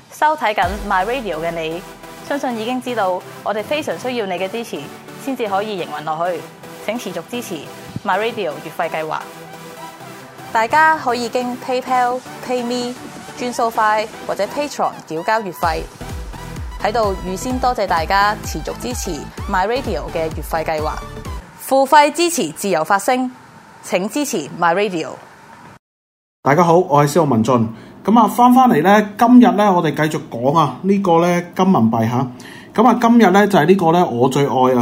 收睇緊 My Radio 嘅你，相信已經知道我哋非常需要你嘅支持，先至可以營運落去。請持續支持 My Radio 月費計劃。大家可以經 PayPal、PayMe、轉數快或者 Patreon 繳交月費。喺度預先多謝大家持續支持 My Radio 嘅月費計劃。付費支持自由發聲，請支持 My Radio。 大家好，我係司徒文進。咁翻嚟咧，今日咧我哋繼續講呢個咧金銀幣嚇。咁今日咧就係呢個咧我最愛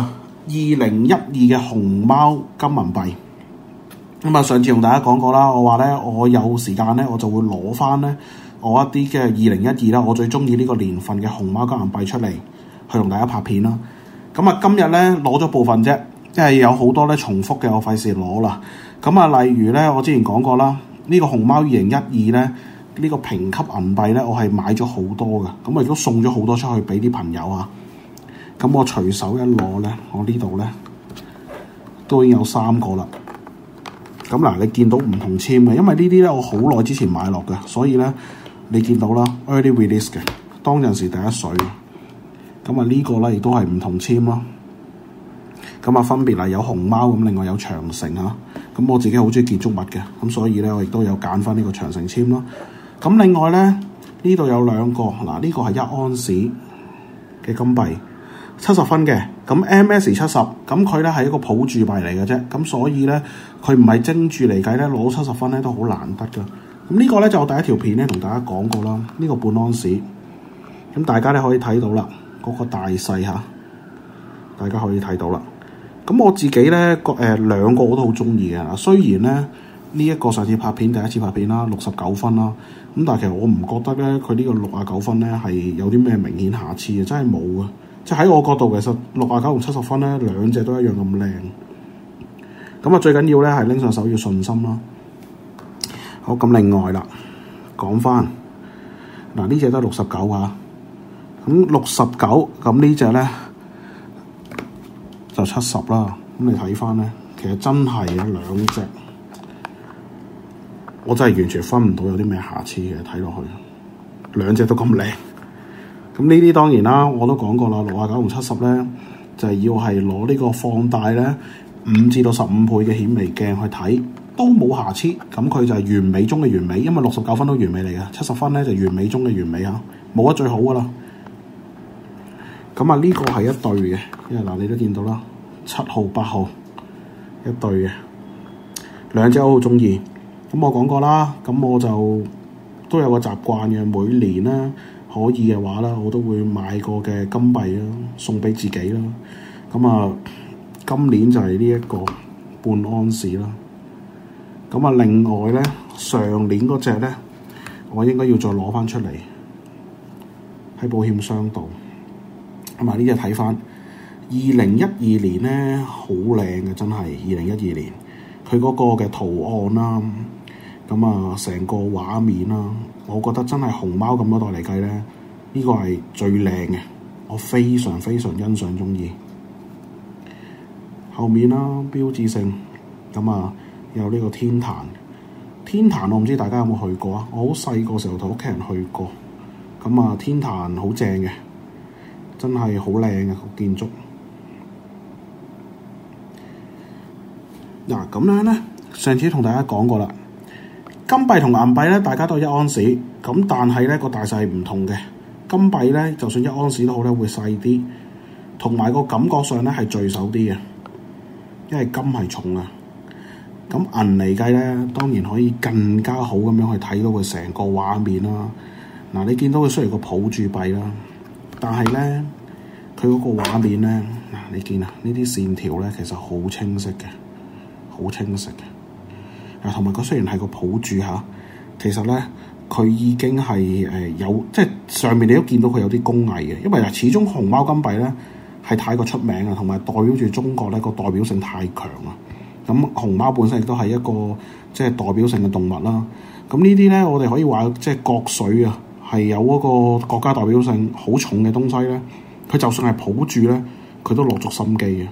2012嘅熊貓金銀幣。咁上次同大家講過啦，我話咧我有時間咧我就會攞翻咧我一啲嘅2012啦，我最中意呢個年份嘅熊貓金銀幣出嚟去同大家拍片啦。咁今日咧攞咗部分啫，即係有好多咧重複嘅，我費事攞啦。咁例如咧我之前講過啦，呢個熊貓2012咧。呢個評級銀幣咧，我係買咗好多嘅，咁我亦都送咗好多出去俾啲朋友啊。咁我隨手一攞咧，我呢度咧都已經有3個啦。咁嗱，你見到唔同簽嘅，因為呢啲咧我好耐之前買落嘅，所以咧你見到啦 early release 嘅，當陣時第一水。咁呢個咧亦都係唔同簽咯。咁分別係有熊貓咁，另外有長城嚇。咁我自己好中意建築物嘅，咁所以咧我亦都有揀翻呢個長城簽咯。咁另外咧，呢度有2個，嗱呢個係1安士嘅金幣，70分嘅，咁 MS70，咁佢咧係一個普鑄幣嚟嘅啫，咁所以咧佢唔係精鑄嚟計咧，攞70分咧都好難得噶。咁呢個咧就我第一條片咧同大家講過啦，呢個半安士，咁大家咧可以睇到啦，嗰個大細嚇，大家可以睇到啦。咁我自己咧2個我都好中意嘅，雖然咧呢一個上次拍片第一次拍片啦，69分啦，咁但係其實我唔覺得咧佢呢個69分咧係有啲咩明顯瑕疵嘅，真係冇啊！即係喺我角度其實69同70分咧兩隻都一樣咁靚。咁最緊要咧係拎上手要信心啦。好，咁另外啦，講翻嗱呢隻都係69啊，咁69咁呢隻咧就70啦。咁你睇翻咧，其實真係有2隻。我真係完全分唔到有啲咩瑕疵嘅，睇落去2隻都咁靚。咁呢啲當然啦，我都講過啦，69同70咧就係要係攞呢個放大咧5至到15倍嘅顯微鏡去睇，都冇瑕疵。咁佢就係完美中嘅完美，因為69分都完美嚟嘅，70分咧就完美中嘅完美嚇，冇得最好噶啦。咁呢個係一對嘅，因為嗱你都見到啦，7號、8號一對嘅，2隻我好中意。咁我講過啦，咁我就都有個習慣嘅，每年咧可以嘅話啦，我都會買個嘅金幣啦，送俾自己啦。咁今年就係呢一個半安士啦。咁另外咧，上年嗰隻咧，我應該要再攞翻出嚟喺保險箱度。咁呢隻睇翻2012年咧，好靚嘅，真係2012年佢嗰個嘅圖案啦。成個畫面啦，我覺得真係熊貓咁多代嚟計咧，呢個係最靚嘅，我非常非常欣賞中意。後面啦，標誌性有呢個天壇，天壇我唔知大家有冇去過啊？我好細個時候同屋企人去過，天壇好正嘅，真係好靚嘅個建築。嗱咁樣咧，上次同大家講過啦。金幣同銀幣咧，大家都係1安士，咁但係咧個大細唔同嘅。金幣咧，就算1安士都好咧，會細啲，同埋個感覺上咧係聚手啲嘅，因為金係重啊。咁銀嚟計咧，當然可以更加好咁樣去睇到佢成個畫面啦。嗱，你見到佢雖然個普鑄幣啦，但係咧佢嗰個畫面咧，嗱你見呢啲線條咧其實好清晰嘅，好清晰嘅。同埋佢雖然係個普鑄嚇，其實咧佢已經係有即係上面你都見到佢有啲工藝嘅，因為始終熊貓金幣咧係太過出名啊，同埋代表住中國咧個代表性太強啊。咁熊貓本身亦都係一個即係代表性嘅動物啦。咁呢啲咧我哋可以話即係國粹啊，係有嗰個國家代表性好重嘅東西咧。佢就算係普鑄咧，佢都落足心機嘅。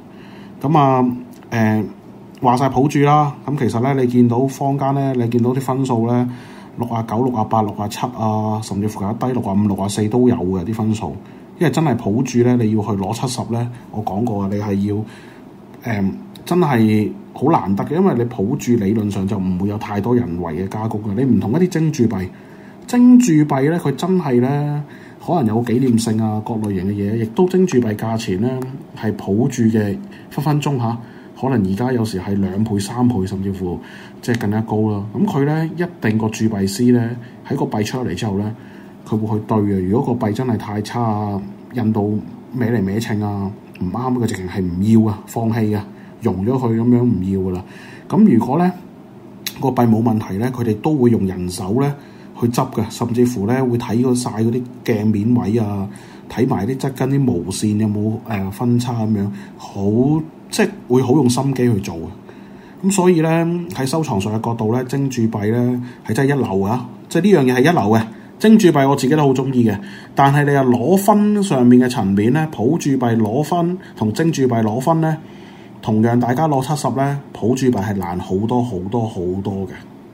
咁話晒普鑄啦，咁其實咧你見到坊間咧，你見到啲分數咧， 69、68、67啊，甚至乎有低65、64都有嘅啲分數。因為真係抱住咧，你要去攞70咧，我講過啊，你係要真係好難得嘅，因為你抱住理論上就唔會有太多人為嘅加工嘅。你唔同一啲精鑄幣，精鑄幣咧佢真係咧可能有紀念性啊，各類型嘅嘢，亦都精鑄幣價錢咧係抱住嘅分分鐘嚇，可能而家有時係2倍、3倍，甚至乎即係更加高啦。咁佢咧一定個鑄幣師咧喺個幣出嚟之後咧，佢會去對嘅。如果個幣真係太差啊，印到歪嚟歪稱啊，唔啱嘅，直情係唔要啊，放棄啊，融咗佢咁樣唔要噶啦。咁如果咧個幣冇問題咧，佢哋都會用人手咧去執嘅，甚至乎咧會睇晒嗰啲鏡面位啊，睇埋啲側跟啲毛線有冇分叉咁樣，好即係會好用心機去做嘅。咁所以咧喺收藏上嘅角度咧，精鑄幣咧係真係一流啊！即係呢樣嘢係一流嘅。精鑄幣我自己都好中意嘅，但係你話攞分上面嘅層面咧，普鑄幣攞分同精鑄幣攞分咧，同樣大家攞70咧，普鑄幣係難好多好多好多嘅。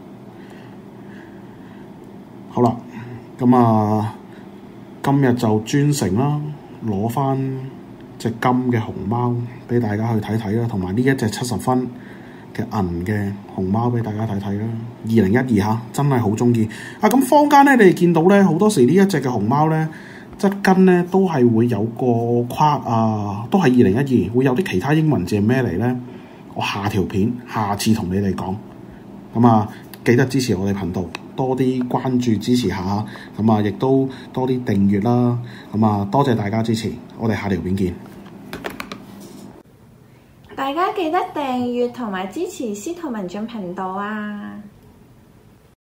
好啦，咁啊，今日就專程啦，攞翻隻金嘅熊貓俾大家去睇睇啦，同埋呢一隻70分嘅銀嘅熊貓俾大家睇睇啦，2012嚇，真係好中意啊！咁坊間咧，你哋見到咧，好多時呢一隻嘅熊貓咧，側跟咧都係會有個框啊，都係2012，會有啲其他英文字係咩嚟咧？我下條片下次同你哋講。咁啊，記得支持我哋頻道，多啲關注支持下，咁啊，亦都多啲訂閱啦。咁啊，多謝大家支持，我哋下條片見。 大家記得訂閱同埋支持司徒文進頻道啊！